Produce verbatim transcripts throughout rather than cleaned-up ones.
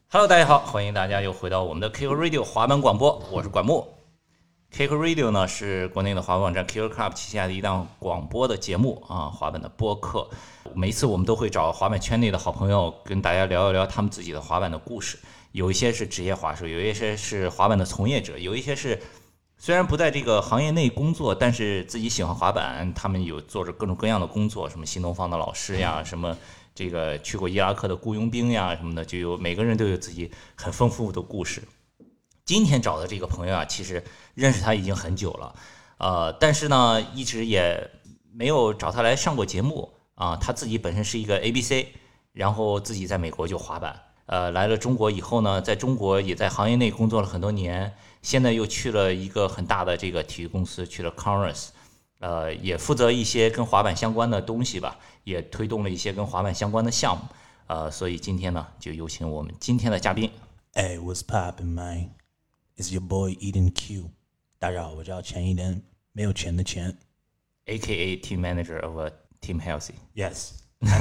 Hello， 大家好，欢迎大家又回到我们的 Kicker Radio 滑板广播，我是管木。Kicker Radio 呢是国内的滑板网站 Kicker Club 旗下的一档广播的节目啊，滑板的播客。每一次我们都会找滑板圈内的好朋友跟大家聊一聊他们自己的滑板的故事，有一些是职业滑手，有一些是滑板的从业者，有一些是虽然不在这个行业内工作，但是自己喜欢滑板，他们有做着各种各样的工作，什么新东方的老师呀，什么这个去过伊拉克的雇佣兵呀什么的，就有每个人都有自己很丰富的故事。今天找的这个朋友啊，其实认识他已经很久了，呃，但是呢，一直也没有找他来上过节目啊。他自己本身是一个 A B C， 然后自己在美国就滑板，呃，来了中国以后呢，在中国也在行业内工作了很多年，现在又去了一个很大的这个体育公司，去了 Converse。呃，也负责一些跟滑板相关的东西吧，也推动了一些跟滑板相关的项目。呃，所以今天呢，就有请我们今天的嘉宾。 Hey, what's poppin', man? It's your boy Eden Q. 大家好，我叫钱一莲，没有钱的钱。 A K A Team Manager of a Team Healthy. Yes.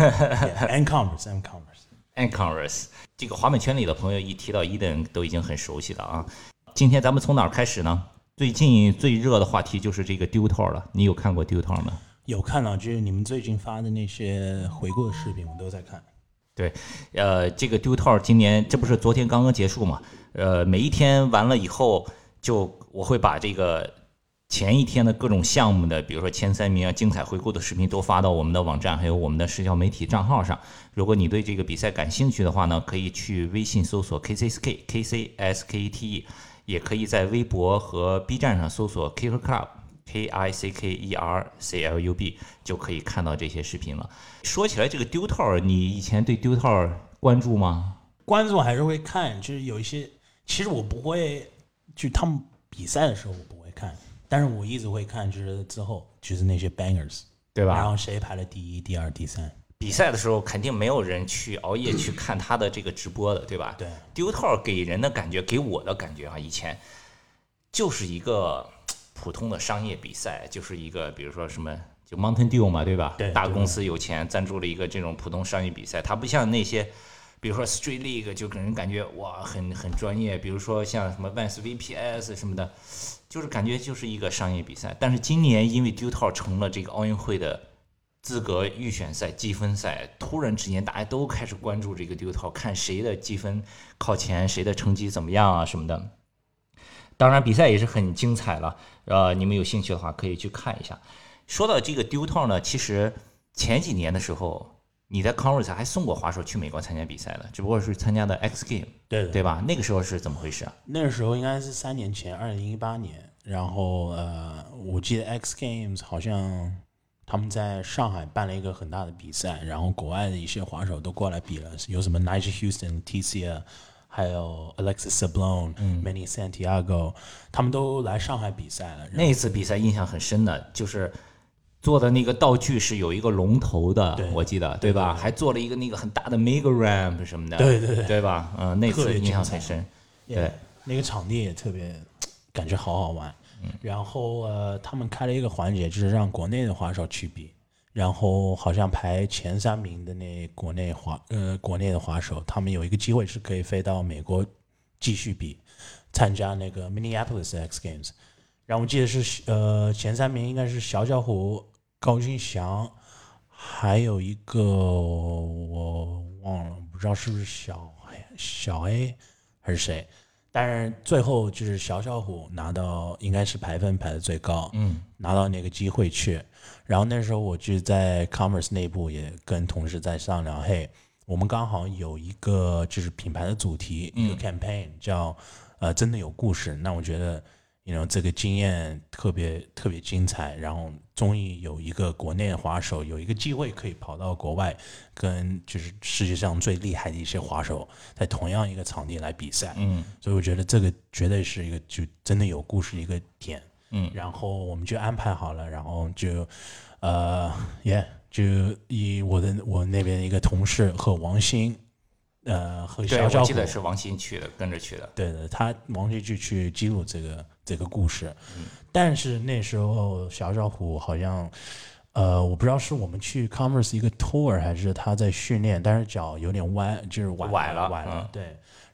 yeah, and Converse, and Converse. And Converse. 这个滑板圈里的朋友一提到 Eden 都已经很熟悉了啊。今天咱们从哪儿开始呢？最近最热的话题就是这个丢套了，你有看过丢套吗？ 有看到，就是你们最近发的那些回顾的视频，我都在看。 对，呃，这个丢套今年这不是昨天刚刚结束嘛？呃，每一天完了以后，就我会把这个前一天的各种项目的，比如说前三名啊、精彩回顾的视频都发到我们的网站，还有我们的社交媒体账号上。如果你对这个比赛感兴趣的话呢，可以去微信搜索 K C S K K C S K E T E。也可以在微博和 B 站上搜索 Kicker Club K I C K E R C L U B 就可以看到这些视频了。说起来这个丢套，你以前对丢套关注吗？ 关注还是会看，就是有一些，其实我不会，就他们比赛的时候我不会看，但是我一直会看，就是之后就是那些 bangers， 对吧？ 然后谁排了第一、第二、第三。 比赛的时候肯定没有人去熬夜去看他的这个直播的，对吧？ 对。 丢套给人的感觉，给我的感觉啊，以前就是一个普通的商业比赛，就是一个比如说什么就 Mountain Dew 嘛，对吧？ 对。 大公司有钱赞助了一个这种普通商业比赛，它不像那些比如说 Street League 就给人感觉哇很很专业，比如说像什么 Vans V P S 什么的，就是感觉就是一个商业比赛。但是今年因为丢套成了这个奥运会的资格预选赛积分赛，突然之间大家都开始关注这个丢套，看谁的积分靠前，谁的成绩怎么样啊什么的。当然比赛也是很精彩了，呃，你们有兴趣的话可以去看一下。说到这个丢套呢，其实前几年的时候你在 Converse 还送过滑手去美国参加比赛的，只不过是参加的 X Game， 对的对吧？那个时候是怎么回事啊？ 那个时候应该是三年前，二零一八年。然后呃，我记得 X Games 好像他们在上海办了一个很大的比赛，然后国外的一些滑手都过来比了，有什么 Nigel Houston、T C， 还有 Alexis Sablon、Manny Santiago， 他们都来上海比赛了。 那一次比赛印象很深的，就是做的那个道具是有一个龙头的，我记得 对, 对吧？对对对，还做了一个那个很大的 mega ramp 什么的， 对对对， 对吧？嗯、呃，那次印象很深。对， yeah, 那个场地也特别感觉好好玩。嗯、然后呃，他们开了一个环节，就是让国内的滑手去比，然后好像排前三名的那国内滑呃国内的滑手，他们有一个机会是可以飞到美国继续比，参加那个 Minneapolis X Games。然后我记得是呃前三名应该是小小虎、高君祥，还有一个我忘了，不知道是不是小小 A 还是谁。但是最后就是小小虎拿到，应该是排分排的最高， 嗯， 拿到那个机会去。然后那时候我就在 Converse 内部也跟同事在商量，嘿，我们刚好有一个就是品牌的主题， 嗯、 一个 campaign 叫呃真的有故事。那我觉得you know, 这个经验特别特别精彩，然后终于有一个国内的滑手有一个机会可以跑到国外，跟就是世界上最厉害的一些滑手在同样一个场地来比赛。 嗯， 所以我觉得这个绝对是一个就真的有故事的一个点。 嗯， 然后我们就安排好了，然后就呃也、yeah, 就以我的我那边的一个同事和王鑫。呃，和小小虎， 对，我记得是王鑫去的，跟着去的。 对的，他王鑫就去记录这个这个故事。嗯、但是那时候小小虎好像，呃，我不知道是我们去 Converse 一个 tour 还是他在训练，但是脚有点弯，就是崴崴了， 崴了。 嗯、 对，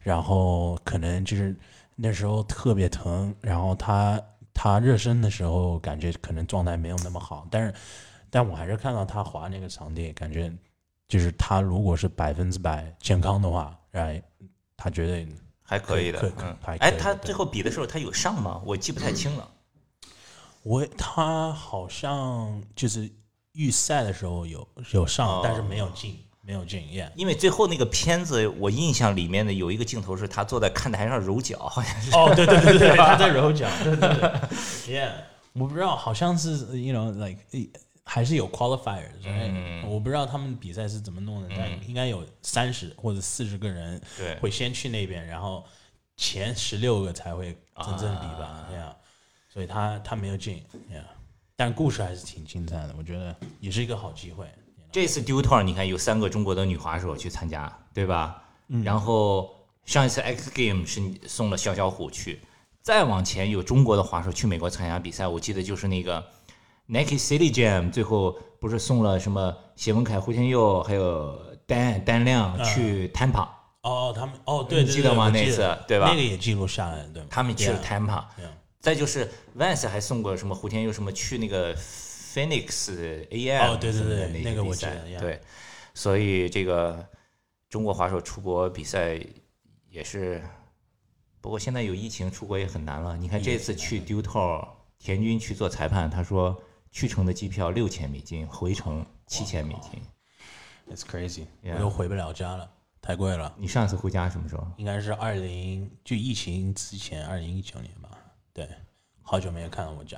然后可能就是那时候特别疼，然后他他热身的时候感觉可能状态没有那么好，但是但我还是看到他滑那个场地，感觉就是他如果是百分之百健康的话，哎，他绝对还可以的。 可以嗯， 还可以哎，他对最后比的时候他有上吗？我记不太清了。 我他好像就是预赛的时候有有上， 哦但是没有进，没有进，yeah。 因为最后那个片子，我印象里面的有一个镜头是他坐在看台上揉脚，好像是。 哦，对对对对，他在揉脚，对对对，yeah。我不知道，好像是 you know like 还是有 qualifiers，嗯，我不知道他们比赛是怎么弄的，但应该有三十或者四十个人对会先去那边，然后前十六个才会真正比吧，yeah。所以他他没有进，yeah。但故事还是挺精彩的，我觉得也是一个好机会。 这次 Dew Tour 你看有三个中国的女滑手去参加，对吧？嗯。然后上一次 X Game 是送了小小虎去，再往前有中国的滑手去美国参加比赛，我记得就是那个 Nike City Jam， 最后不是送了什么谢文凯、胡天佑还有丹丹亮去 Tampa。 哦，他们哦，对对对， 你记得吗？那次对吧？ 那个也记录下来了，对吗？ 他们去了 Tampa。 Yeah。 再就是 Vance 还送过什么胡天佑什么去那个 Phoenix A M 哦，对对对， 那那个我记得， yeah。 对，所以这个中国滑手出国比赛也是，不过现在有疫情，出国也很难了。你看这次去 Dew Tour， 田军去做裁判，他说去程的机票六千美金，回程七千美金。 It's crazy， yeah。 我都回不了家了，太贵了。 你上次回家什么时候？ 应该是二零就疫情之前，二零一九年吧。对，好久没有看到我家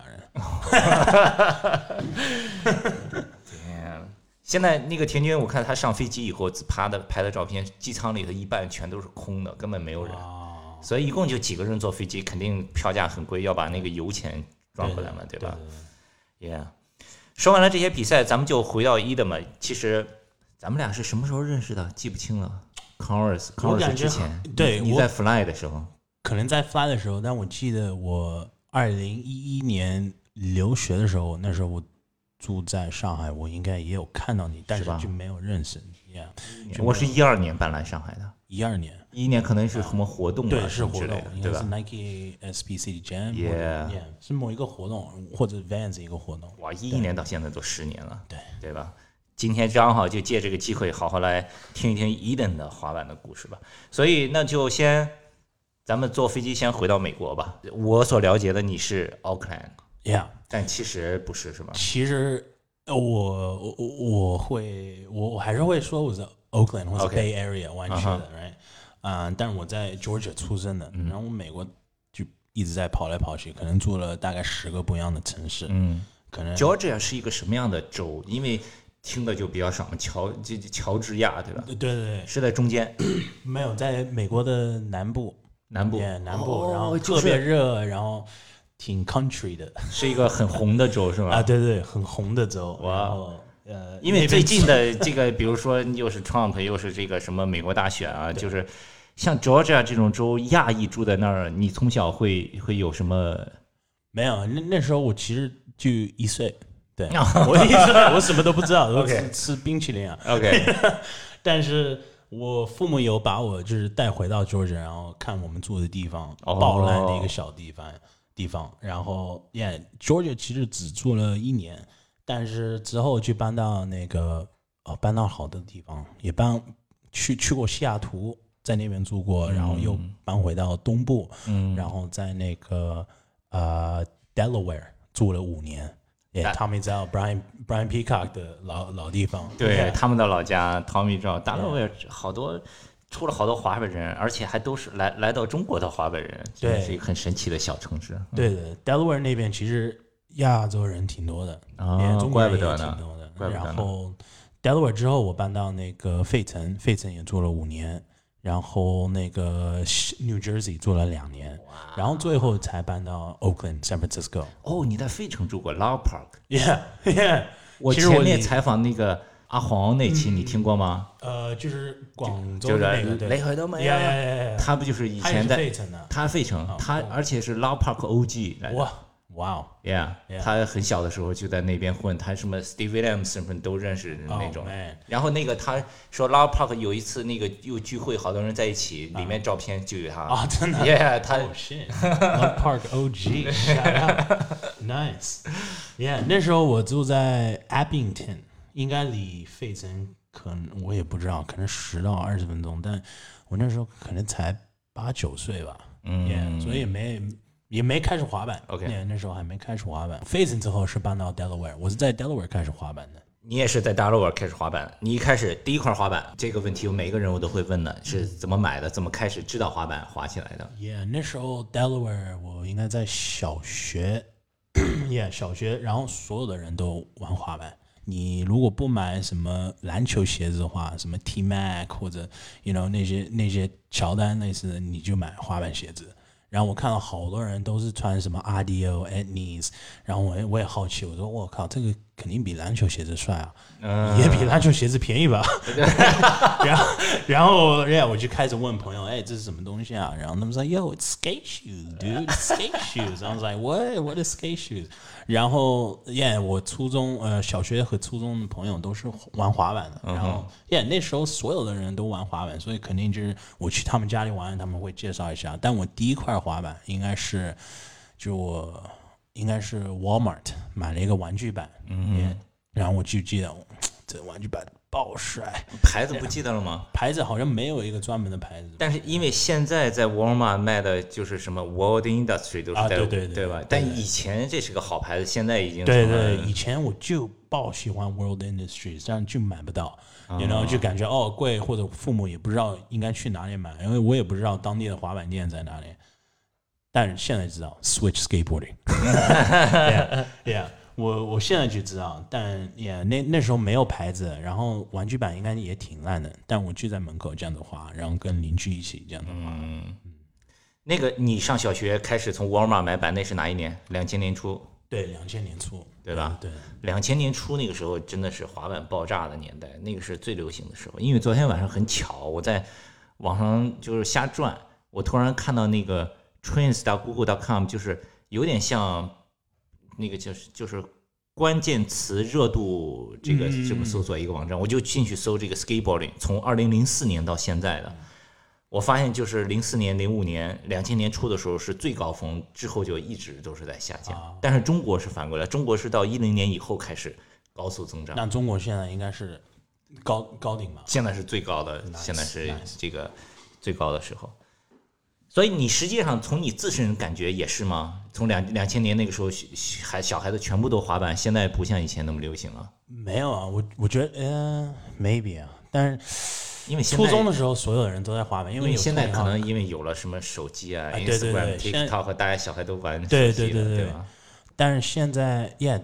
人。 天，现在那个田军，我看他上飞机以后拍的拍的照片，机舱里的一半全都是空的，根本没有人。所以一共就几个人坐飞机，肯定票价很贵，要把那个油钱赚回来嘛，对吧 ？Yeah。说完了这些比赛，咱们就回到一的嘛。其实咱们俩是什么时候认识的？记不清了。Converse，Converse 之前， 对， 你在 Fly 的时候。 可能在 Fly 的时候，但我记得我二零一一年留学的时候，那时候我住在上海，我应该也有看到你，但是就没有认识你。Yeah， 我是一二年搬来上海的， 一二年， 一一年可能是什么活动啊？ 对，是活动， 对吧？ 是 Nike S P C Jam， yeah， 是某一个活动或者 Vans 一个活动。 哇，一一年到现在都十年了， 对对吧？今天正好就借这个机会，好好来听一听 Eden 的滑板的故事吧。所以那就先。咱们坐飞机先回到美国吧。我所了解的你是 Oakland，yeah， 但其实不是，是吧？ 其实我我我会我我还是会说我是 Oakland 或者 Bay Area 湾区的 ，right？ 啊、uh, ，但是我在 Georgia 出生的，嗯、然后我美国就一直在跑来跑去，可能住了大概十个不一样的城市。 嗯， 可能 Georgia 是一个什么样的州？因为听的就比较少，乔这乔治亚，对吧？ 对对对， 是在中间， 没有在美国的南部。 南部， yeah, 南部， 哦、 然后特别热，然后挺 country 的， 是一个很红的州，是吧？ 啊，对对，很红的州。 哇， 呃， 因为最近的这个，比如说又是 Trump， 又是这个什么美国大选啊，就是像 Georgia 这种州，亚裔住在那儿，你从小会会有什么？ 没有，那那时候我其实就一岁，对，我一岁，我什么都不知道，我只吃冰淇淋啊。 OK， 但是。我父母有把我就是带回到 Georgia， 然后看我们住的地方，爆烂的一个小地方，地方。然后 ，Yeah，Georgia 其实只住了一年，但是之后就搬到那个哦，搬到好多地方，也搬去去过西雅图，在那边住过，然后又搬回到东部， 嗯， 然后在那个呃 Delaware 住了五年。Yeah, Tommy 知道 Brian Brian Peacock 的老老地方， 对、yeah. 他们的老家 Tommy 知道，大陆也好多出了好多滑板人，而且还都是来来到中国的滑板人， 对， 是一个很神奇的小城市。 对的 ，Delaware 那边其实亚洲人挺多的， 啊、 哦，中国人也挺多的。 怪不得呢。 然后 Delaware 之后，我搬到那个费城，费城也住了五年。然后那个 New Jersey 住了两年，然后最后才搬到 Oakland、San Francisco。 哦，你在费城住过 Lau Park？Yeah, yeah。 我前面采访那个阿黄那期，你听过吗？ 呃，就是广州的那个雷海德美啊，他不就是以前在他费城，他而且是 Lau Park O G 来的。 哇哇哦 ，Yeah， Yeah 他很小的时候就在那边混，他什么 Steve Williams 什么都认识的那种。 Oh, man 然后那个他说 Lara Park 有一次那个又聚会，好多人在一起，里面照片就有他。 啊，真的 Yeah， 他 Oh shit Love Park O G shout out Nice Yeah 那时候我住在 Abington 应该离费城可能我也不知道可能十到二十分钟但我那时候可能才八九岁吧嗯 Yeah 所以也没也没开始滑板 OK Yeah 那时候还没开始滑板费城之后是搬到 Delaware 我是在 Delaware 开始滑板的你也是在 Delaware 开始滑板，你一开始第一块滑板这个问题，每个人我都会问的，是怎么买的，怎么开始知道滑板滑起来的 Yeah 那时候 Delaware 我应该在小学Yeah 小学然后所有的人都玩滑板你如果不买什么篮球鞋子的话什么 T-Mac 或者 you know 那些那些乔丹类似的你就买滑板鞋子然后我看到好多人都是穿什么 Adio Etnies 然后我也我也好奇我说我靠这个肯定比篮球鞋子帅啊、嗯、也比篮球鞋子便宜吧然后然后 yeah, 我就开始问朋友哎这是什么东西啊然后他们说 Yo it's skate shoes dude it's skate shoes I was like what what is skate shoes 然后 yeah 我初中呃小学和初中的朋友都是玩滑板的然后 yeah 那时候所有的人都玩滑板所以肯定就是我去他们家里玩他们会介绍一下但我第一块滑板应该是就我应该是 Walmart 买了一个玩具板嗯然后我就记得这玩具板爆帅牌子不记得了吗牌子好像没有一个专门的牌子但是因为现在在 Walmart 卖的就是什么 World Industry 都是啊带、 对对对对吧但以前这是个好牌子现在已经对对以前我就爆喜欢 World Industries 这样就买不到然后就感觉哦贵或者父母也不知道应该去哪里买因为我也不知道当地的滑板店在哪里但是现在知道 Switch Skateboarding yeah, yeah, 我, 我现在就知道但 yeah, 那, 那时候没有牌子然后玩具板应该也挺烂的但我就在门口这样子滑然后跟邻居一起这样子滑、嗯嗯、那个你上小学开始从 Walmart 买板那是哪一年两千年初对两千年初对吧对两千年初那个时候真的是滑板爆炸的年代那个是最流行的时候因为昨天晚上很巧我在网上就是瞎转我突然看到那个trends 到 google 点 com 就是有点像那个就是就是关键词热度这个这么搜索一个网站、嗯、我就进去搜这个 skateboarding 从二零零四年到现在的、嗯、我发现就是零四年零五年两千年初的时候是最高峰之后就一直都是在下降、啊、但是中国是反过来中国是到一零年以后开始高速增长那中国现在应该是高高顶吧现在是最高的、nice, 现在是这个最高的时候所以你实际上从你自身感觉也是吗？从两两千年那个时候，孩小孩子全部都滑板，现在不像以前那么流行了。 没有啊，我我觉得呃 maybe 啊，但是因为现在初中的时候所有的人都在滑板，因为有现在可能因为有了什么手机啊、 啊对对对 Instagram、TikTok， 大家小孩都玩手机对对对对对吧？ 但是现在 yeah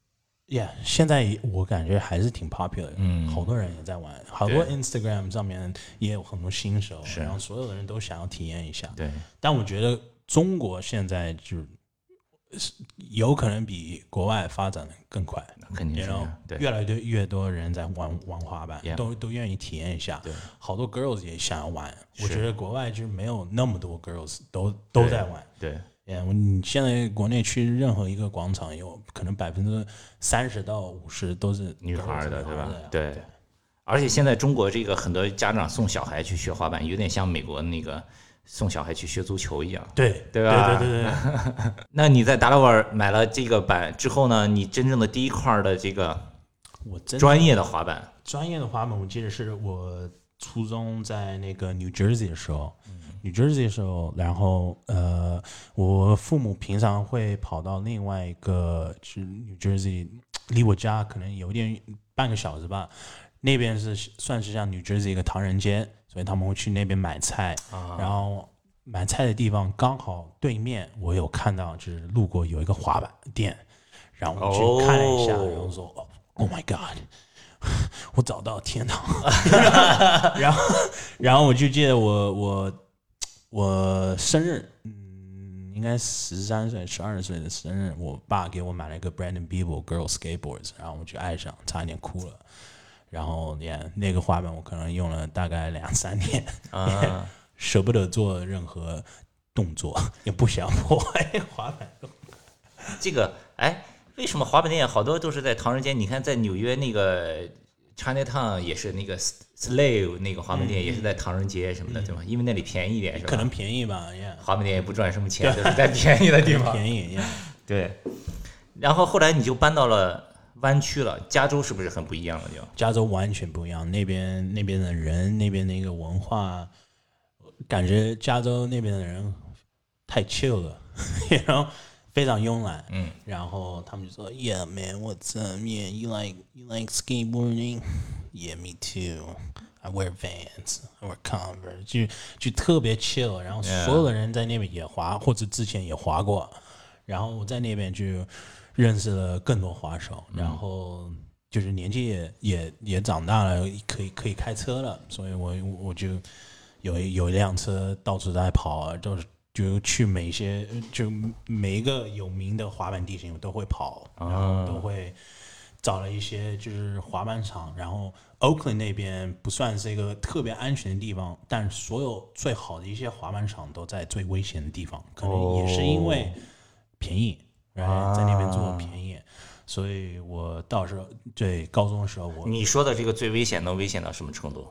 yeah 现在我感觉还是挺 popular 的，嗯，好多人也在玩，好多 Instagram 上面也有很多新手，然后所有的人都想要体验一下。 对， 但我觉得中国现在就有可能比国外发展的更快， 肯定是，对， 越来越越多人在玩玩滑板， yeah. 都都愿意体验一下。 对， 好多 girls 也想要玩，我觉得国外就是没有那么多 girls 都都在玩。 对。对 Yeah, 你现在国内去任何一个广场，有可能百分之三十到五十都是女孩的，对吧？对。 对。 而且现在中国这个很多家长送小孩去学滑板，有点像美国那个送小孩去学足球一样， 对对吧？ 对对对对。 那你在达拉瓦尔买了这个板之后呢？你真正的第一块的这个我真专业的滑板， 专业的滑板，我记得是我初中在那个 New Jersey 的时候。New Jersey 的时候，然后呃，我父母平常会跑到另外一个，就是 New Jersey， 离我家可能有点半个小时吧。那边是算是像 New Jersey 一个唐人街，所以他们会去那边买菜。啊、然后买菜的地方刚好对面，我有看到就是路过有一个滑板店，然后我去看了一下，哦、然后说 ，Oh my God。我找到天堂，然后，然后我就记得我我。我生日，嗯，应该十三岁、十二岁的生日，我爸给我买了一个 Brandon Beeble Girl Skateboards， 然后我就爱上，差一点哭了。然后，yeah, 那个滑板我可能用了大概两三年，啊、舍不得做任何动作，也不想破坏滑板。 这个哎，为什么滑板店好多都是在唐人街？你看在纽约那个 Chinatown 也是那个 Slave 那个滑板店也是在唐人街什么的，对吧？因为那里便宜一点，是吧？ 可能便宜吧，yeah。 滑板店也不赚什么钱，都是在便宜的地方。 便宜，yeah。 对。然后后来你就搬到了湾区了，加州是不是很不一样了？就加州完全不一样，那边那边的人，那边的一个文化，感觉加州那边的人太 chill 了，然后非常慵懒。 嗯， 然后他们就说 ，Yeah man, what's up? Yeah, you like you like skateboarding? Yeah, me too. I wear Vans, I wear Converse， 就就特别 chill。然后所有的人在那边也滑，或者之前也滑过。然后我在那边就认识了更多滑手，然后就是年纪也也也长大了，可以可以开车了，所以我我就有有一辆车到处在跑，就是就去每些就每一个有名的滑板地形我都会跑，然后都会找了一些就是滑板场，然后 Oakland 那边不算是一个特别安全的地方，但所有最好的一些滑板场都在最危险的地方，可能也是因为便宜，然后在那边做便宜，所以我到时候对高中的时候我你说的这个最危险能危险到什么程度？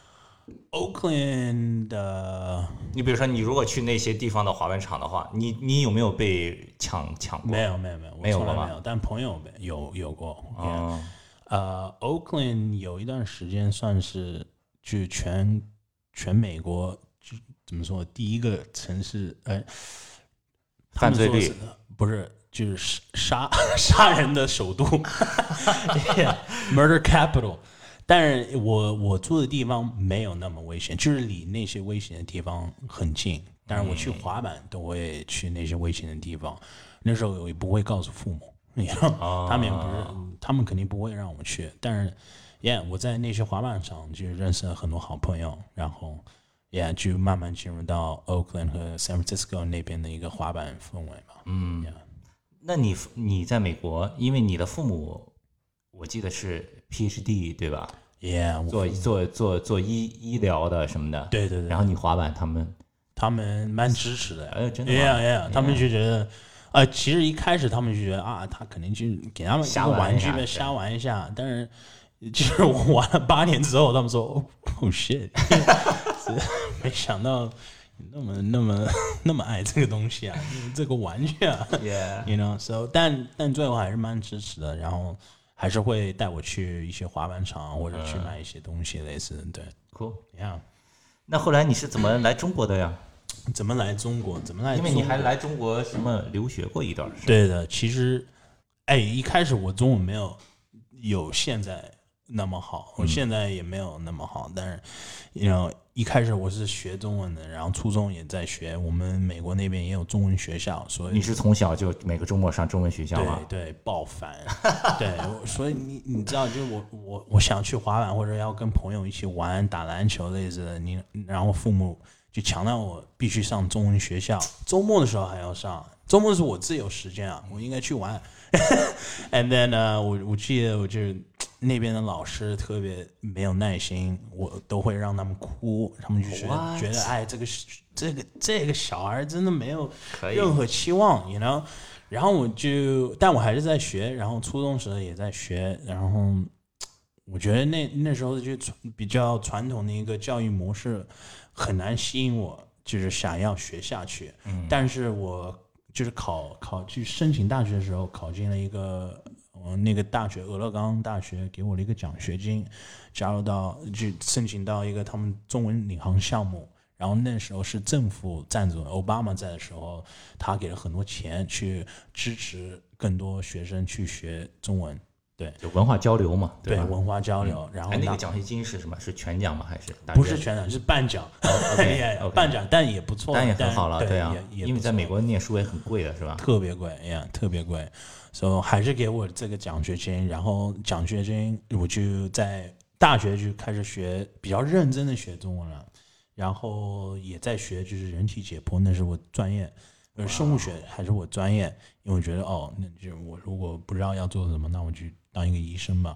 Oakland 的， 你比如说你如果去那些地方的滑板场的话，你你有没有被抢抢过？ 没有没有没有没有过吗？ 没有，但朋友有有过。 哦， 呃 ，Oakland 有一段时间算是就全全美国就怎么说第一个城市，哎， 犯罪率不是就是杀杀人的首都，murder capital。但是我我住的地方没有那么危险，就是离那些危险的地方很近。但是我去滑板都会去那些危险的地方，那时候我也不会告诉父母，你知道， 哦、 他们也不是，他们肯定不会让我去。但是，yeah， 我在那些滑板场就认识了很多好朋友，然后，yeah， 就慢慢进入到 Oakland 和 San Francisco 那边的一个滑板氛围嘛。 嗯， yeah。 那你你在美国，因为你的父母，我记得是 P H D 对吧 ？Yeah， 做做做做医医疗的什么的。 对对对。 然后你滑板，他们他们蛮支持的。 哎，真的吗 ？Yeah yeah， 他们就觉得，呃，其实一开始他们就觉得啊，他肯定就给他们一个玩具呗，瞎玩一下。但是，就是我玩了八年之后，他们说，Oh shit， 没想到。那么那么那么爱这个东西啊，这个玩具啊 ，Yeah，you know，so 但但最后还是蛮支持的，然后还是会带我去一些滑板场或者去买一些东西，类似的，对 ，cool，yeah。那后来你是怎么来中国的呀？ 怎么来中国？怎么来中国？ 因为你还来中国什么留学过一段时间。 对的，其实，哎，一开始我中文没有有现在那么好，我现在也没有那么好，嗯、但是，you know。一开始我是学中文的，然后初中也在学，我们美国那边也有中文学校，所以你是从小就每个周末上中文学校吗？ 对对，爆烦。对，所以你你知道，就是我我我想去滑板或者要跟朋友一起玩打篮球类似的，你然后父母就强调我必须上中文学校，周末的时候还要上，周末是我自由时间啊，我应该去玩。And then 呢、uh, 我我记得我就那边的老师特别没有耐心，我都会让他们哭，他们就觉得觉得哎这个这个这个小孩真的没有任何期望 ，you know。然后我就，但我还是在学，然后初中时候也在学，然后我觉得那那时候就比较传统的一个教育模式很难吸引我，就是想要学下去。嗯，但是我就是考考去申请大学的时候，考进了一个呃那个大学俄勒冈大学给我了一个奖学金，加入到就申请到一个他们中文领航项目。然后那时候是政府赞助，奥巴马在的时候，他给了很多钱去支持更多学生去学中文，对， 就文化交流嘛， 对，对文化交流。嗯、然后那个奖学金是什么？是全奖吗？还是不是全奖？是半奖， 哦、okay, okay, 半奖，但也不错， 但也很好了， 对啊，因为在美国念书也很贵的，是吧？ 特别贵呀，特别贵，所以还是给我这个奖学金。然后奖学金我就在大学就开始学，比较认真的学中文了。然后也在学，就是人体解剖，那是我专业，呃，生物学还是我专业，因为我觉得哦，那就我如果不知道要做什么，那我就当一个医生吧。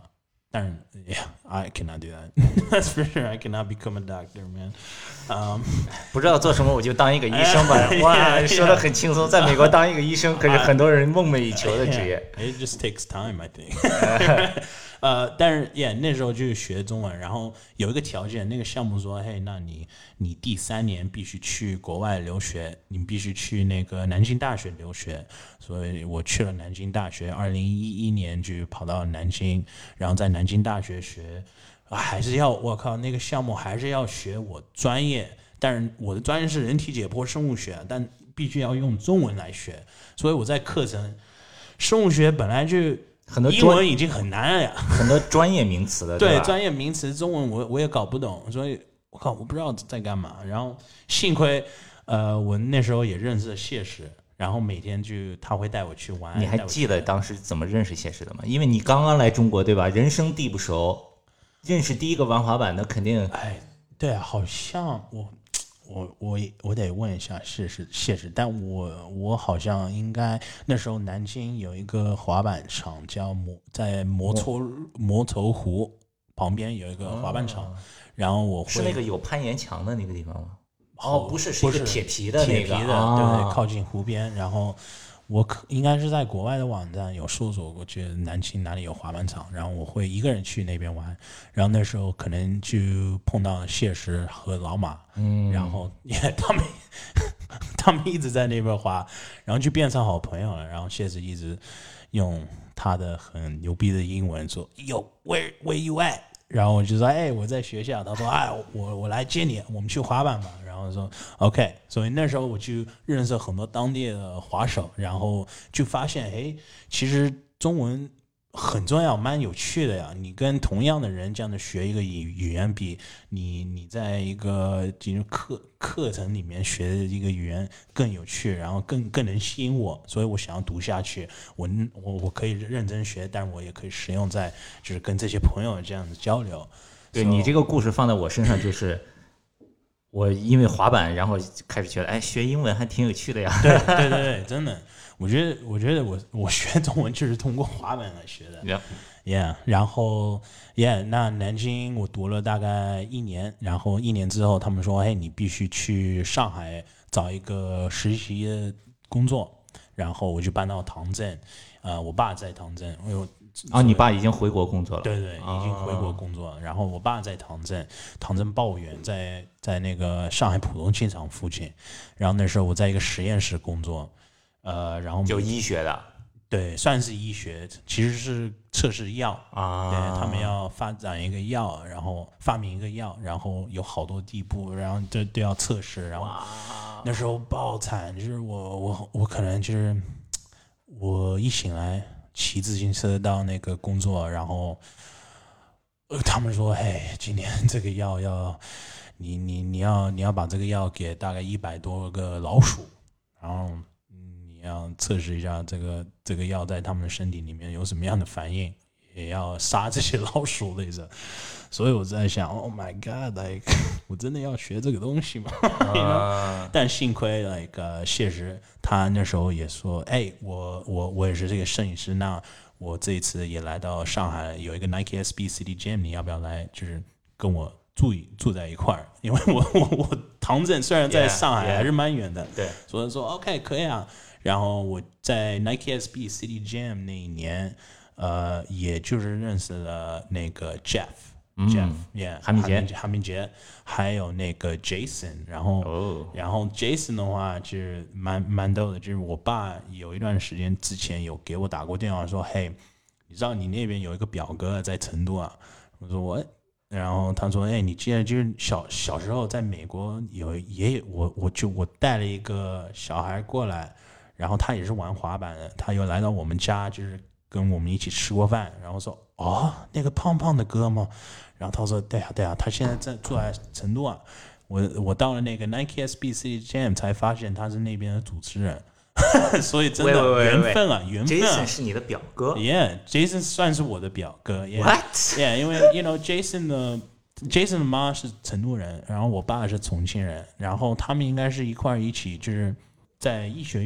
但是 yeah, I cannot do that. That's for sure. I cannot become a doctor, man. Um, 不知道做什么，我就当一个医生吧。哇，说的很轻松，在美国当一个医生可是很多人梦寐以求的职业。 It just takes time, I think. 呃，但是 yeah 那时候就学中文，然后有一个条件，那个项目说，嘿，那你你第三年必须去国外留学，你必须去那个南京大学留学，所以我去了南京大学，二零一一年就跑到南京，然后在南京大学学，啊、还是要我靠那个项目还是要学我专业，但是我的专业是人体解剖生物学，但必须要用中文来学，所以我在课程生物学本来就。 很多英文已经很难了呀， 很多专业名词的，对吧？ 对，专业名词中文我我也搞不懂，所以我靠，我不知道在干嘛。然后幸亏，呃，我那时候也认识了谢石，然后每天就他会带我去玩。 你还记得当时怎么认识谢石的吗？因为你刚刚来中国，对吧？人生地不熟，认识第一个玩滑板的肯定…… 哎，对啊，好像我。我我我得问一下谢石谢石，但我我好像应该那时候南京有一个滑板场叫摩在摩头摩头湖旁边有一个滑板场，哦、然后我会是那个有攀岩墙的那个地方吗？哦，不是，是一个铁皮的那个， 铁皮的， 啊、 对对，靠近湖边，然后。我可应该是在国外的网站有搜索过，觉得南京哪里有滑板场，然后我会一个人去那边玩，然后那时候可能就碰到谢石和老马，嗯，然后也他们他们一直在那边滑，然后就变成好朋友了。然后谢石一直用他的很牛逼的英文说 ，Yo where where you at？ 然后我就说，哎，我在学校。他说，哎，我我来接你，我们去滑板吧。然后说 OK， 所以那时候我就认识很多当地的滑手，然后就发现，哎，其实中文很重要，蛮有趣的呀。你跟同样的人这样的学一个语语言，比你你在一个就是课课程里面学的一个语言更有趣，然后更更能吸引我，所以我想要读下去。我我我可以认真学，但我也可以使用在就是跟这些朋友这样的交流。 对、so, 你这个故事放在我身上就是。我因为滑板，然后开始觉得，哎，学英文还挺有趣的呀。 对对对对，真的，我觉得，我觉得我我学中文就是通过滑板来学的。 Yeah， yeah 然后 Yeah， 那南京我读了大概一年，然后一年之后，他们说，哎，你必须去上海找一个实习的工作，然后我就搬到唐镇，呃，我爸在唐镇，我有。 啊，你爸已经回国工作了？ 对对，已经回国工作了。哦、然后我爸在唐镇，唐镇抱远，在在那个上海浦东机场附近。然后那时候我在一个实验室工作，呃，然后就医学的， 对，算是医学，其实是测试药啊。 对，他们要发展一个药，然后发明一个药，然后有好多地步，然后都都要测试。然后那时候爆惨，就是我我我可能就是我一醒来。骑自行车到那个工作，然后、呃、他们说：“嘿，今天这个药要你你你要你要把这个药给大概一百多个老鼠，然后你要测试一下这个这个药在他们的身体里面有什么样的反应，也要杀这些老鼠类的。”所以我在想 ，Oh my God，like 我真的要学这个东西吗？ uh... 但幸亏 like、uh, 谢石他那时候也说，哎，我我我也是这个摄影师，那我这一次也来到上海，有一个 Nike S B City Jam， 你要不要来？就是跟我住住在一块儿？因为我我我唐镇虽然在上海还是蛮远的， 对、yeah, yeah. 所以说 OK 可以啊。然后我在 Nike S B City Jam 那一年，呃，也就是认识了那个 Jeff。Jeff， yeah， 韩明杰， 韩明杰，还有那个 Jason， 然后， oh. 然后 Jason 的话就是蛮蛮逗的，就是我爸有一段时间之前有给我打过电话说，嘿，你知道你那边有一个表哥在成都啊？我说我，然后他说，哎，你记得就是小小时候在美国有也有我我就我带了一个小孩过来，然后他也是玩滑板的，他又来到我们家，就是跟我们一起吃过饭，然后说，哦，那个胖胖的哥吗？然后他说：“对啊，对啊，他现在在住在成都啊。我我到了那个 Nike S B City Jam 才发现他是那边的主持人，所以真的缘分啊，缘分啊。 Jason 是你的表哥 ，Yeah，Jason 算是我的表哥 ，What？Yeah， 因为 you know Jason 的 Jason 的妈是成都人，然后我爸是重庆人，然后他们应该是一块一起就是在医学院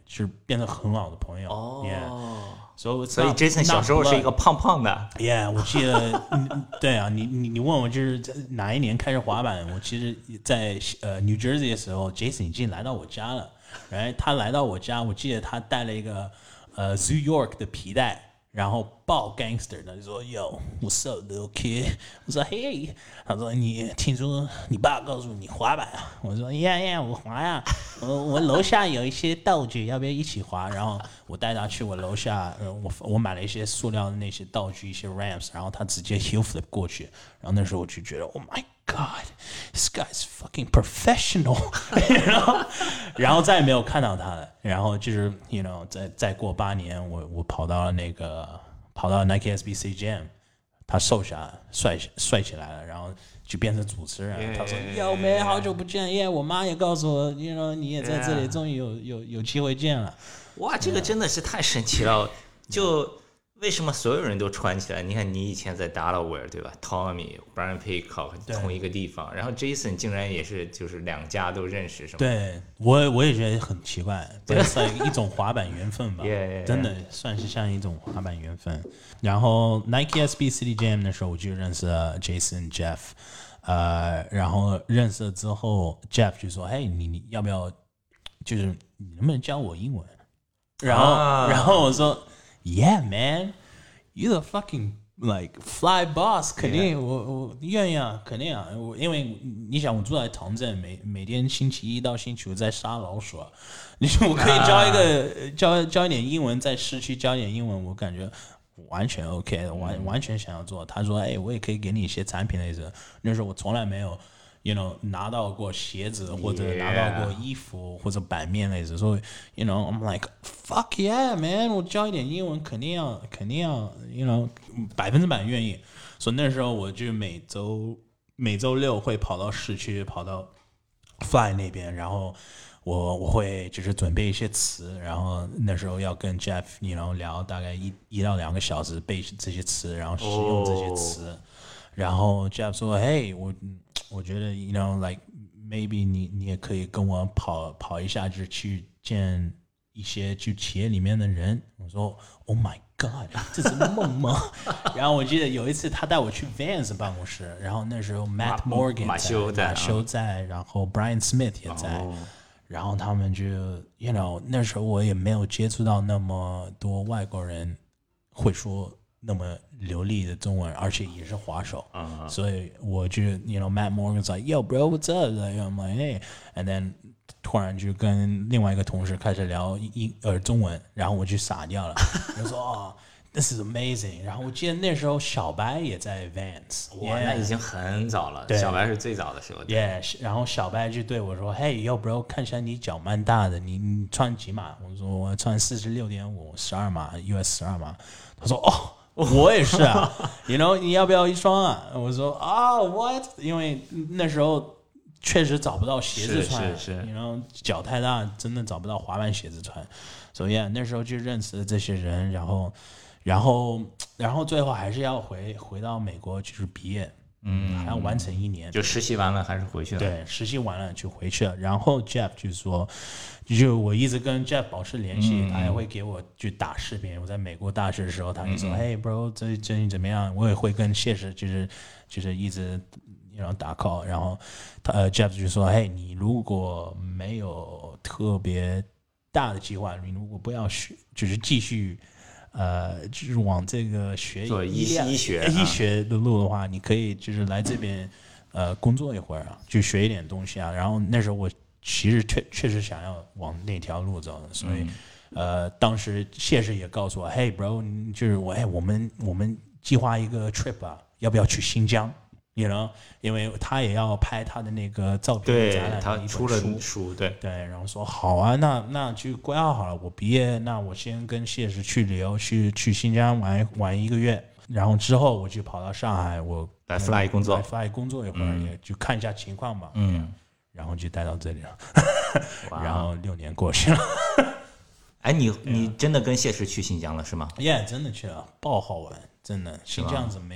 就是变成很好的朋友。 哦。 Yeah. So 所以 Jason 小时候是一个胖胖的。 Yeah， 我记得，对啊，你你你问我就是哪一年开始滑板？我其实在呃 New Jersey 的时候 ，Jason 已经来到我家了。然后他来到我家，我记得他带了一个呃 Zoo York 的皮带。然后爆 gangster 的就说 Yo what's up little kid， 我说 Hey， 他说你听说你爸告诉你滑板啊？我说 Yeah yeah 我滑呀、啊，我我楼下有一些道具，要不要一起滑？然后我带他去我楼下，呃、我我买了一些塑料的那些道具，一些 ramps， 然后他直接 heel flip 过去，然后那时候我就觉得 Oh my God this guy's fucking professional 然后然后再也没有看到他了。然后就是 you know 再再过八年，我我跑到了那个跑到 Nike S B C Jam， 他瘦下来帅帅起来了，然后就变成主持人。Yeah, 他说 Yo man 好久不见，耶、yeah, 我妈也告诉我 you know 你也在这里，终于有有有机会见了。 哇，这个真的是太神奇了！就为什么所有人都穿起来？你看，你以前在 Delaware 对吧 ？Tommy、Brian Paycock 同一个地方，然后 Jason 竟然也是，就是两家都认识，是吗？ 对，我我也觉得很奇怪，这是一种滑板缘分吧， yeah, yeah, yeah. 真的算是像一种滑板缘分。然后 Nike S B C Jam 的时候，我就认识了 Jason、Jeff， 呃，然后认识了之后 ，Jeff 就说：“嘿，你你要不要，就是你能不能教我英文？”然后，啊、然后我说。Yeah, man, you the fucking like fly boss， 肯定、yeah. 我我愿意啊，肯定啊，我因为你想我住在唐镇，每每天星期一到星期五在杀老鼠，你说我可以教一个、啊、教教一点英文，在市区教一点英文，我感觉完全 OK， 完完全想要做。他说，哎，我也可以给你一些产品类似，那时候我从来没有。You know 拿到过鞋子或者拿到过衣服或者版面类似，所以 You know I'm like fuck yeah man， 我教一点英文肯定要肯定要 You know 百分之百愿意。所以那时候我就每周每周六会跑到市区，跑到 Fly 那边，然后我我会就是准备一些词，然后那时候要跟 Jeff You know 聊大概一一到两个小时背这些词，然后使用这些词。Oh. 然后 Jeff 说：“嘿，我我觉得 ，you know like maybe 你你也可以跟我跑跑一下，就是去见一些就企业里面的人。”我说 ：“Oh my God， 这是梦吗？”然后我记得有一次他带我去 Vans 办公室，然后那时候 Matt Morgan 马修在， 马修在，然后 Brian Smith 也在，哦、然后他们就 you know 那时候我也没有接触到那么多外国人会说。那么流利的中文，而且也是滑手， uh-huh. 所以我就 you know Matt Morgan's like yo bro what's up like, I'm like hey and then 突然就跟另外一个同事开始聊英呃中文，然后我就傻掉了，我说哦 this is amazing。 然后我记得那时候小白也在 Vans， 哇、yeah, 那已经很早了，小白是最早的时候。 Yeah， 然后小白就对我说 hey yo bro 看起来你脚蛮大的，你你穿几码？我说我穿四十六点五，十二码 U S 十二码。他说哦。我也是啊 ，you know 你要不要一双啊？我说啊、oh, ，what？ 因为那时候确实找不到鞋子穿， 是是是， 然后脚太大，真的找不到滑板鞋子穿。所以、so yeah, 那时候就认识了这些人，然后，然后，然后最后还是要回回到美国，就是毕业，嗯，还要完成一年， 就实习完了还是回去了。 对，实习完了就回去了。然后 Jeff 就说。就我一直跟 Jeff 保持联系、嗯，他也会给我就打视频。我在美国大学的时候，他就说：“嘿、嗯 hey, ，bro， 这最近怎么样？”我也会跟谢实就是就是一直然后打 call。然后他呃 Jeff 就说：“嘿，你如果没有特别大的计划，你如果不要学，就是继续呃就是往这个学做医医学医学的路的话，你可以就是来这边呃工作一会儿啊，就学一点东西啊。”然后那时候我。其实确确实想要往那条路走的，所以、嗯，呃，当时谢师也告诉我，嘿 ，bro， 就是我，哎，我们我们计划一个 trip 啊，要不要去新疆 ？You know， 因为他也要拍他的那个照片展览的一本书， 他出了书，对对，然后说好啊，那那就规划好了，我毕业，那我先跟谢师去旅游，去去新疆玩玩一个月，然后之后我就跑到上海，我来 fly 工作， 来 fly 工作一会儿、嗯，也就看一下情况吧， 嗯。 然后就带到这里了，然后六年过去了。 哎，你你真的跟谢师去新疆了是吗 ？Yeah， 真的去了，爆好玩，真的。新疆是 amazing。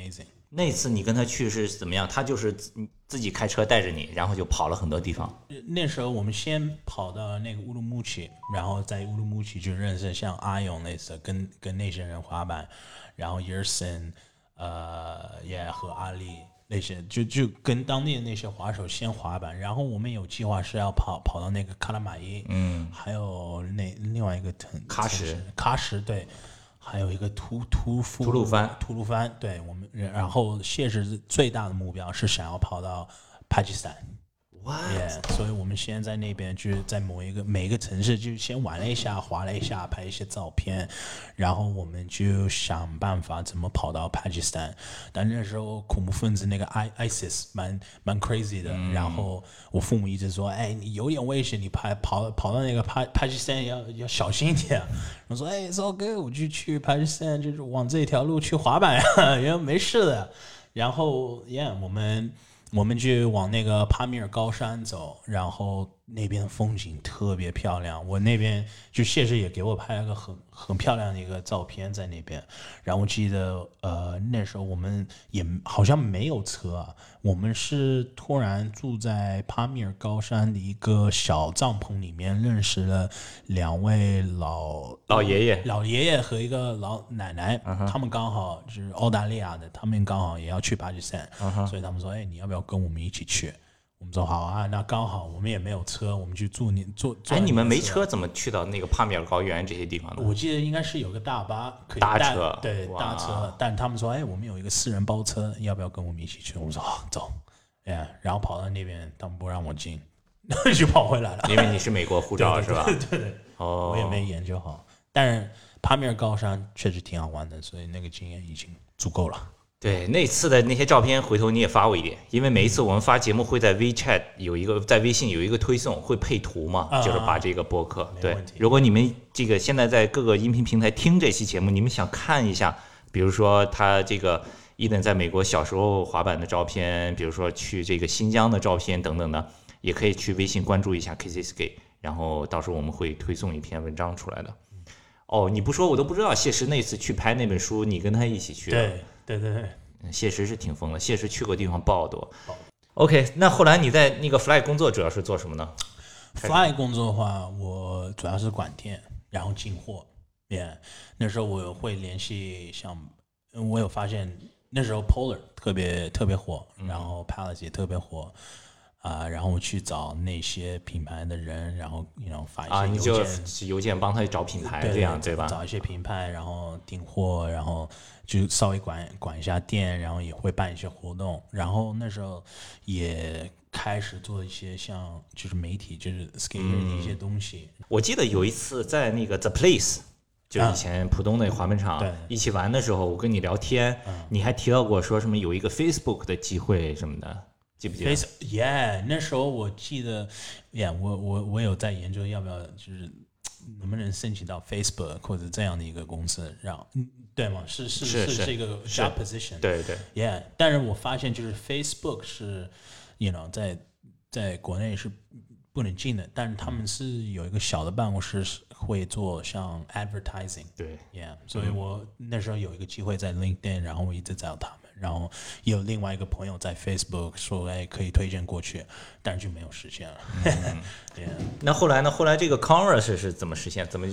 那次你跟他去是怎么样？他就是自己开车带着你，然后就跑了很多地方。 那时候我们先跑到那个乌鲁木齐，然后在乌鲁木齐就认识像阿勇类似跟跟那些人滑板，然后 Yersin 呃也和阿力那些，就就跟当地的那些滑手先滑板，然后我们有计划是要跑跑到那个喀拉玛依，嗯，还有那另外一个城喀什， 喀什对。还有一个吐吐夫吐鲁番， 吐鲁番，对我们，然后谢氏最大的目标是想要跑到巴基斯坦。 哇、 yeah, 所以我们先在那边就是在某一个每一个城市就先玩了一下，滑了一下，拍一些照片，然后我们就想办法怎么跑到巴基斯坦。但那时候恐怖分子那个 I ISIS 蛮蛮 crazy 的、嗯，然后我父母一直说，哎，你有点危险，你跑跑跑到那个巴巴基斯坦要要小心一点。我说，哎 ，it's all good，我就去巴基斯坦，就是往这条路去滑板呀，然后没事的。然后 ，yeah， 我们。我们就往那个帕米尔高山走，然后那边的风景特别漂亮。我那边就谢师也给我拍了个很很漂亮的一个照片在那边。然后我记得呃那时候我们也好像没有车啊，我们是突然住在帕米尔高山的一个小帐篷里面，认识了两位老老爷爷、 老爷爷和一个老奶奶， uh-huh. 他们刚好就是澳大利亚的，他们刚好也要去巴基斯坦， uh-huh. 所以他们说，哎，你要不要跟我们一起去？我们说好啊，那刚好我们也没有车，我们去住你坐。 哎，你们没车怎么去到那个帕米尔高原这些地方呢？ 我记得应该是有个大巴可以搭车， 对，搭车。但他们说，哎，我们有一个私人包车，要不要跟我们一起去？我们说好，走。哎，然后跑到那边，他们不让我进，就跑回来了。 因为你是美国护照是吧？ 对对对，哦，我也没研究好。但是帕米尔高山确实挺好玩的，所以那个经验已经足够了。 对，那次的那些照片，回头你也发我一点，因为每一次我们发节目会在 WeChat 有一个，在微信有一个推送，会配图嘛， 啊、 就是把这个播客。 对， 如果你们这个现在在各个音频平台听这期节目，你们想看一下，比如说他这个伊登在美国小时候滑板的照片，比如说去这个新疆的照片等等的，也可以去微信关注一下 K C Skate， 然后到时候我们会推送一篇文章出来的。哦，你不说我都不知道，谢师那次去拍那本书，你跟他一起去的。 对对对对。 谢师是挺疯的，谢师去过地方爆多。OK， 那后来你在那个 Fly 工作主要是做什么呢 ？Fly 工作的话，我主要是管店，然后进货。Yeah， 那时候我会联系像，我有发现那时候 Polar 特别特别火，然后 Palace 也特别火。啊、呃，然后我去找那些品牌的人，然后你 you know, 发一些邮件，啊， 你就邮件帮他找品牌， 对这样对吧？ 找一些品牌，然后订货，然后就稍微管管一下店，然后也会办一些活动。然后那时候也开始做一些像就是媒体，就是 skate 的一些东西、 嗯。我记得有一次在那个 The Place， 就是以前浦东那个滑板场、啊、一起玩的时候，我跟你聊天、嗯，你还提到过说什么有一个 Facebook 的机会什么的。记不记得 ？Yeah， 那时候我记得 ，Yeah， 我我我有在研究要不要就是能不能申请到 Facebook 或者这样的一个公司，让对吗？是是是是这个 job position， 对对 ，Yeah。但是我发现就是 Facebook 是 ，you know， 在在国内是不能进的，但是他们是有一个小的办公室会做像 advertising， 对 ，Yeah。所以我那时候有一个机会在 LinkedIn， 然后我一直找他们。然后也有另外一个朋友在 Facebook 说，哎，可以推荐过去，但是就没有实现了。嗯 yeah. 那后来呢？后来这个 Converse 是怎么实现？怎么就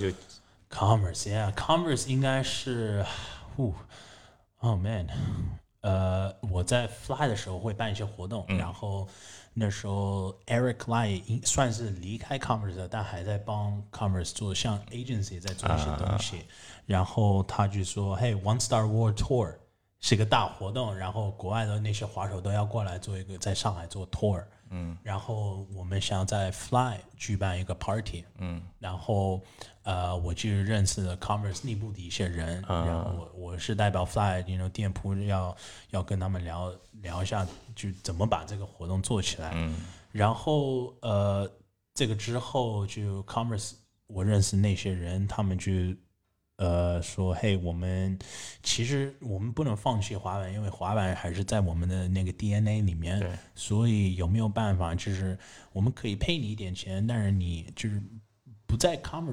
Converse？Yeah，Converse 应该是，哦 ，Oh man， 呃，我在 Fly 的时候会办一些活动，嗯、然后那时候 Eric Lai 算是离开 Converse 的，但还在帮 Converse 做像 agency 在做一些东西。啊、然后他就说，嘿 ，One Star World Tour。是个大活动，然后国外的那些滑手都要过来做一个，在上海做 tour， 嗯，然后我们想在 Fly 举办一个 party， 嗯，然后呃，我就认识了 Converse 内部的一些人，嗯、然后我我是代表 Fly， you know, 店铺要要跟他们聊聊一下，就怎么把这个活动做起来，嗯，然后呃，这个之后就 Converse 我认识那些人，他们就。呃，说嘿，我们其实我们不能放弃滑板，因为滑板还是在我们的那个 D N A 里面。 对。 所以有没有办法，就是我们可以赔你一点钱，但是你就是不在 Converse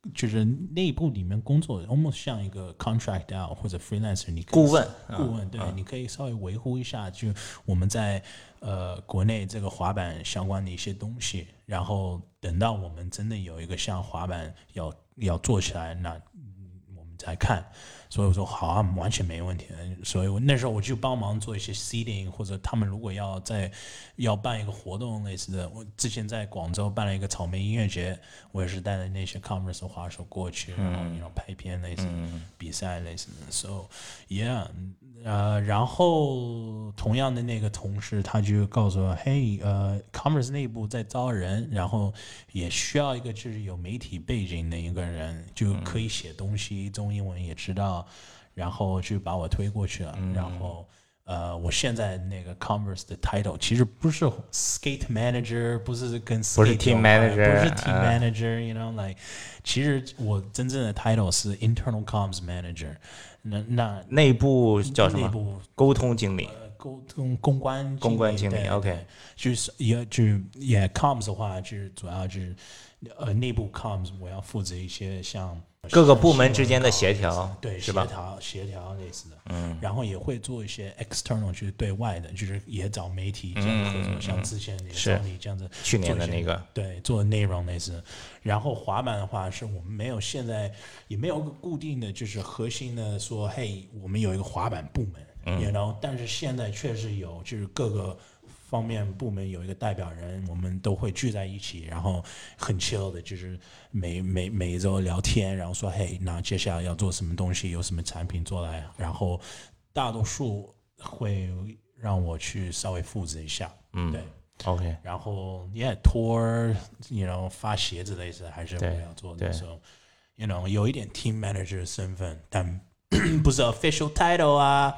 就是内部里面工作 almost 像一个 contract out 或者 freelancer， 你可以顾问顾问对、嗯，你可以稍微维护一下，就我们在呃国内这个滑板相关的一些东西，然后等到我们真的有一个像滑板要要做起来，那我们再看。所以我说好啊，完全没问题。所以我那时候我就帮忙做一些 seeding， 或者他们如果要在要办一个活动类似的，我之前在广州办了一个草莓音乐节，我也是带着那些 Converse 的滑手过去，然后然后拍片类似的、嗯、比赛类似的。So yeah， 呃，然后同样的那个同事他就告诉我，嘿，呃 ，Converse 内部在招人，然后也需要一个就是有媒体背景的一个人，就可以写东西，中英文也知道。然后就把我推过去了，嗯、然后呃，我现在那个 Converse 的 title 其实不是 skate manager， 不是跟 skate 不是 team manager， 不是 team manager，you、uh, know like， 其实我真正的 title 是 internal comms manager， 那那内部叫什么？ 内部沟通经理。 呃、沟通公关经理公关经理 ，OK， 就是也就也 comms 的话，就是主要就是呃内部 comms， 我要负责一些像。 各个部门之间的协调， 对， 是吧？ 协调协调类似的，嗯，然后也会做一些 external， 就是对外的，就是也找媒体这样合作，嗯、像之前也找你这样子， 去年的那个， 对，做内容类似。然后滑板的话，是我们没有现在也没有个固定的就是核心的说，嘿，我们有一个滑板部门，嗯，然后但是现在确实有，就是各个。方面部门有一个代表人，我们都会聚在一起，然后很 chill 的，就是每每每一周聊天，然后说，嘿，那接下来要做什么东西，有什么产品做来，然后大多数会让我去稍微负责一下，嗯，对 ，OK， 然后 yeah tour，you know 发鞋子类似还是我要做的时候 ，you know 有一点 team manager 的身份，但不是 official title 啊。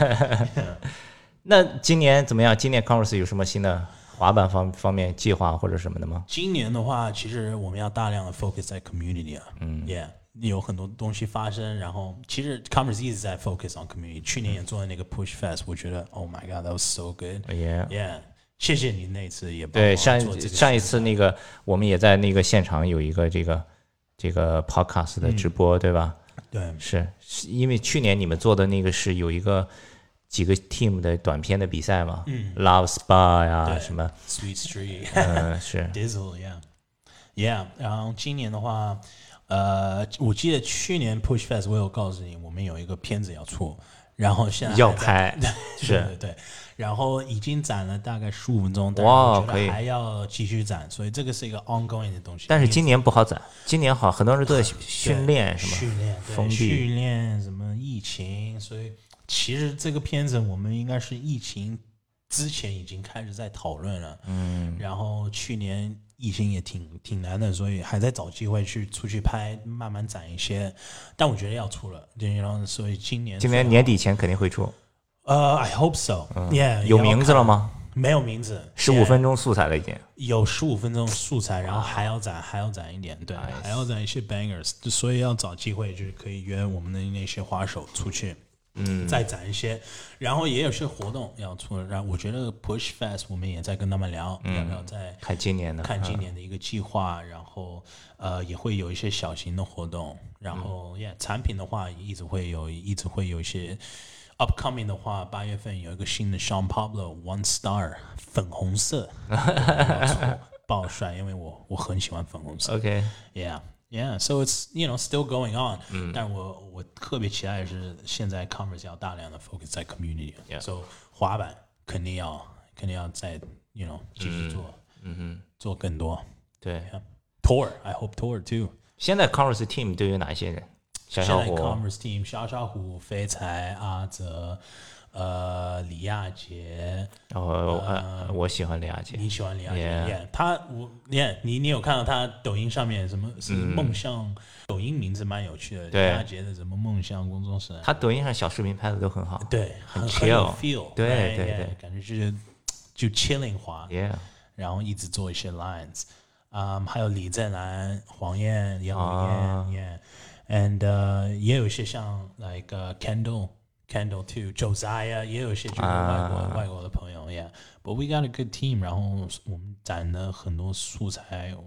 那今年怎么样？今年 Converse 有什么新的滑板方方面计划或者什么的吗？ 今年的话，其实我们要大量的 focus 在 community 啊，嗯 ，yeah， 有很多东西发生。然后其实 Converse 一直在 focus on community。去年也做了那个 Push Fest， 我觉得 Oh my God，that was so good。Yeah， yeah， 谢谢你那次也帮我做这个。 对，上上一次那个我们也在那个现场有一个这个这个 podcast 的直播，嗯、对吧？ 对， 是因为去年你们做的那个是有一个。几个 team 的短片的比赛嘛，嗯 ，Love Spa 呀，什么 Sweet Street， 嗯，是 Dizzle，yeah，yeah。然后今年的话，呃，我记得去年 Push Fest 我有告诉你，我们有一个片子要出，然后现在要拍， 是对对对，然后已经展了大概十五分钟，但是我觉得还要继续展，所以这个是一个 ongoing 的东西。 但是今年不好展，今年好，很多人都在训练，什么训练、 封闭、 训练什么疫情，所以。其实这个片子我们应该是疫情之前已经开始在讨论了，嗯，然后去年疫情也挺挺难的，所以还在找机会去出去拍，慢慢展一些。但我觉得要出了，然后所以今年今年年底前肯定会出。 呃、uh, ，I hope so、嗯。Yeah， 有名字了吗？ 没有名字， 十五分钟素材了已经。 有十五分钟素材，然后还要展，还要展一点，对， nice. 还要展一些 bangers， 所以要找机会就是可以约我们的那些滑手出去。嗯，再展一些，然后也有些活动要出，然后我觉得 Push Fest 我们也在跟他们聊，嗯、要不要再看今年的看今年的一个计划，嗯、然后呃也会有一些小型的活动，然后、嗯、yeah, 产品的话一直会有，一直会有一些 upcoming 的话，八月份有一个新的 Sean Pablo One Star 粉红色，爆帅，因为我我很喜欢粉红色。 OK，yeah。Yeah, so it's you know still going on、嗯。但我我特别期待的是，现在 Converse 要大量的 focus 在 community，so、yeah. 滑板肯定要肯定要再 you know 继续做，嗯哼，做更多。 对、 yeah.，Tour I hope Tour too。 现在 Converse team 都有哪些人？小小虎。 现在 Converse team 小小虎、飞才、阿泽。呃，李亚杰， 哦、呃，我喜欢李亚杰， 你喜欢李亚杰？ Yeah. Yeah, 他我，你看你你有看到他抖音上面什么是梦想、嗯？抖音名字蛮有趣的，李亚杰的什么梦想工作室？ 他抖音上小视频拍的都很好， 对， 很 chill， 很有 feel， 对 right? 对对， yeah, 感觉就是就 chilling 滑 ，yeah， 然后一直做一些 lines， 嗯、um, ，还有李正兰、黄燕、杨伟燕 ，yeah，and、uh, 也有一些像 like、uh, Kendall。Kendall too, Josiah 也有一些就是外国、啊、外国的朋友 ，Yeah. But we got a good team. 然后我们展了很多素材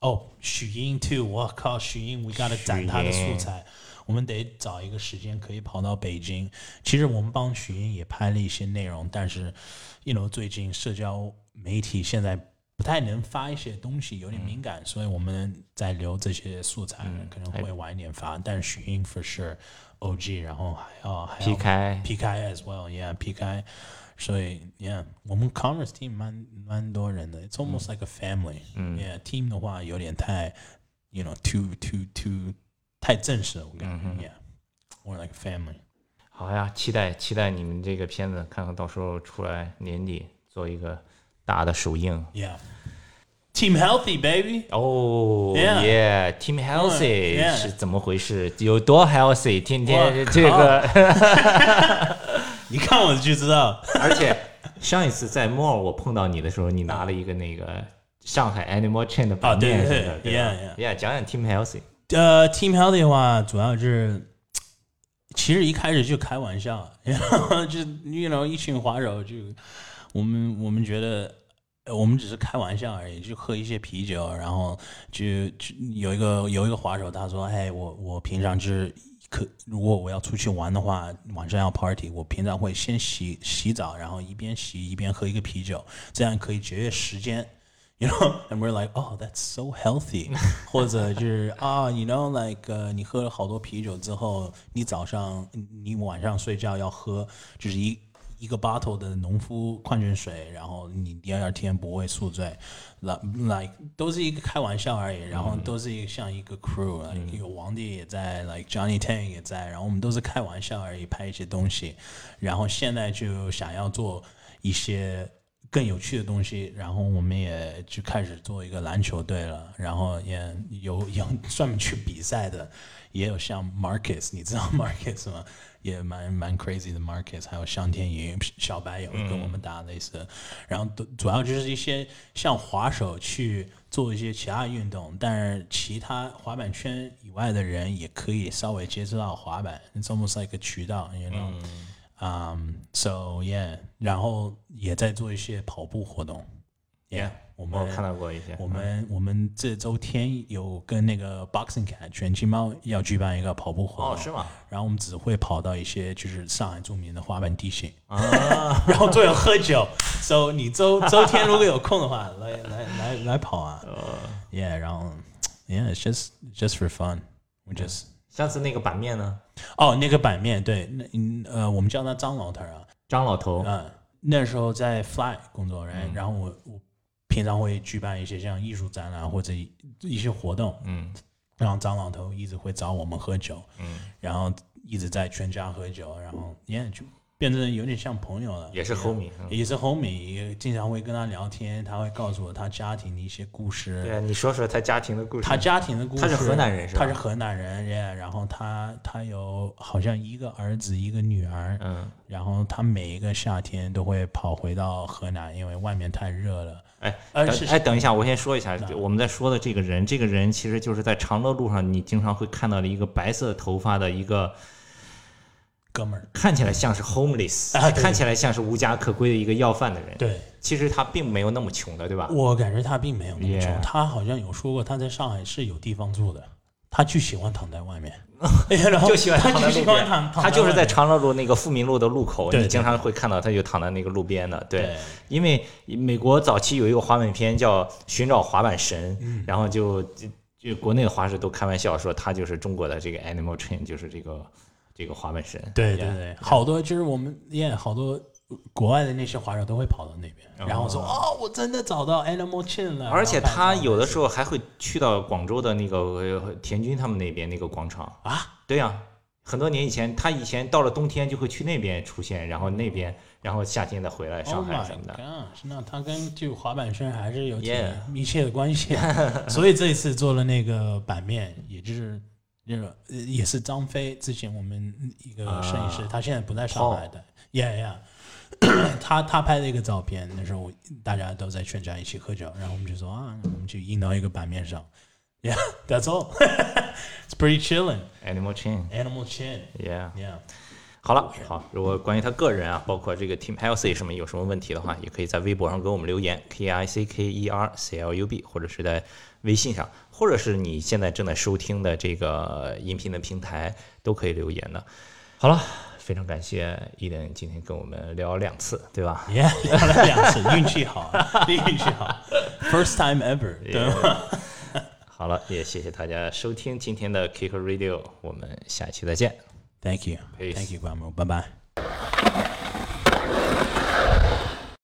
哦，许英 too， 我靠，许英 ，we gotta 攒他的素材，我们得找一个时间可以跑到北京。其实我们帮许英也拍了一些内容，但是，you know， 最近社交媒体现在不太能发一些东西，有点敏感，嗯、所以我们在留这些素材，嗯、可能会晚一点发。但是许英 for sure，O G， 然后还要还要 P K P K as well，yeah，P K。所以 ，yeah， 我们 Commerce team 蛮蛮多人的 ，it's almost、嗯、like a family。嗯 ，yeah， team 的话有点太 ，you know，too too too 太正式了，我感觉、嗯、，yeah，more like a family。 好呀，期待期待你们这个片子，看看到时候出来年底做一个大的首映。 Yeah。Team Healthy, baby. 哦、oh, ，Yeah, Team Healthy、yeah. 是怎么回事？有多 healthy？ 天天这个。 你看我就知道， 而且上一次在 Mall 我碰到你的时候，你拿了一个那个上海 Animal Chain 的版面， 对对对 ，Yeah Yeah， 讲讲 Team Healthy。 呃、uh, ，Team Healthy 的话，主要是其实一开始就开玩笑，然后就 you know 一群滑手就我们我们觉得我们只是开玩笑而已，就喝一些啤酒，然后就就有一个有一个滑手他说，哎，我我平常就是可如果我要出去玩的话，晚上要 party， 我平常会先洗洗澡，然后一边洗一边喝一个啤酒，这样可以节约时间。You know, and we're like, oh, that's so healthy. 或者就是啊、oh, ，you know, like、uh, 你喝了好多啤酒之后，你早上你晚上睡觉要喝，就是一一个 bottle 的农夫矿泉水，然后你第二天不会宿醉。like 都是一个开玩笑而已，然后都是一个像一个 crew，、嗯、有王帝也在 ，like Johnny Tang 也在，然后我们都是开玩笑而已，拍一些东西，然后现在就想要做一些更有趣的东西，然后我们也就开始做一个篮球队了，然后也有有专门去比赛的，也有像 Marcus， 你知道 Marcus 吗？也蛮蛮 crazy 的 Marcus， 还有向天宇、小白有跟我们打类似的、嗯，然后主要就是一些像滑手去做一些其他运动，但是其他滑板圈以外的人也可以稍微接触到滑板 ，it's almost like a 渠道 ，you know，嗯、um, so yeah， 然后也在做一些跑步活动 ，yeah。 我们我看到过一些。 我们、嗯、我们这周天有跟那个 Boxing Cat 拳击猫要举办一个跑步活动， 哦，是吗？ 然后我们只会跑到一些就是上海著名的滑板地形，啊、然后都有喝酒。So 你周周天如果有空的话，来来来来跑啊、uh, ！Yeah， 然后 Yeah，it's just just for fun. We just、嗯、 上次那个版面呢？ 哦，那个版面对，那呃，我们叫他张老头啊， 张老头。 嗯，那时候在 Fly 工作，然、嗯、然后我我。平常会举办一些像艺术展览或者一些活动，嗯，然后张老头一直会找我们喝酒，嗯，然后一直在全家喝酒，然后也就变成有点像朋友了， 也是 homie， 也是 homie， 也经常会跟他聊天，他会告诉我他家庭的一些故事。 对，你说说他家庭的故事。 他家庭的故事， 他是河南人是吧？ 他是河南人，然后他他有好像一个儿子一个女儿，嗯，然后他每一个夏天都会跑回到河南，因为外面太热了。 哎，呃，哎，等一下，我先说一下，我们在说的这个人，这个人其实就是在长乐路上，你经常会看到的一个白色头发的一个哥们儿， 看起来像是 homeless，、啊、看起来像是无家可归的一个要饭的人。 对， 其实他并没有那么穷的，对吧？ 我感觉他并没有那么穷， yeah. 他好像有说过他在上海是有地方住的，他就喜欢躺在外面。 就喜欢躺在路边， 他, 他就是在长乐路那个富民路的路口，你经常会看到他就躺在那个路边的。对，对，因为美国早期有一个滑板片叫《寻找滑板神》，嗯、然后就就国内的滑手都开玩笑说他就是中国的这个 Animal Chain， 就是这个这个滑板神。 对对对， yeah, 好多就是我们也、yeah, 好多国外的那些滑手都会跑到那边，哦、然后说哦，我真的找到 Animal Chain 了。 而且他有的时候还会去到广州的那个田军他们那边那个广场啊。 对呀、啊，很多年以前，他以前到了冬天就会去那边出现，然后那边，然后夏天再回来上海什么的。 Oh my gosh， 那他跟就滑板圈还是有挺密切的关系。Yeah. 所以这一次做了那个版面，也就是那个也是张飞之前我们一个摄影师， uh, 他现在不在上海的。Yeah yeah。他他拍了一个照片，那时候大家都在全家一起喝酒，然后我们就说啊，我们就印到一个版面上。Yeah, that's all. It's pretty chilling. Animal Chain. Animal Chain. Yeah. Yeah. 好了，好，如果关于他个人啊，包括这个 Team Healthy 什么有什么问题的话，也可以在微博上给我们留言 K I C K E R C L U B， 或者是在微信上，或者是你现在正在收听的这个音频的平台都可以留言的。好了，非常感谢伊登今天跟我们聊了两次，对吧？ Yeah， 聊了两次，运气好，运气好 ，First time ever， 对吗？ 好了，也谢谢大家收听今天的 Kicker Radio， 我们下期再见。 Thank you. Peace. Thank you, Guamo. Bye bye.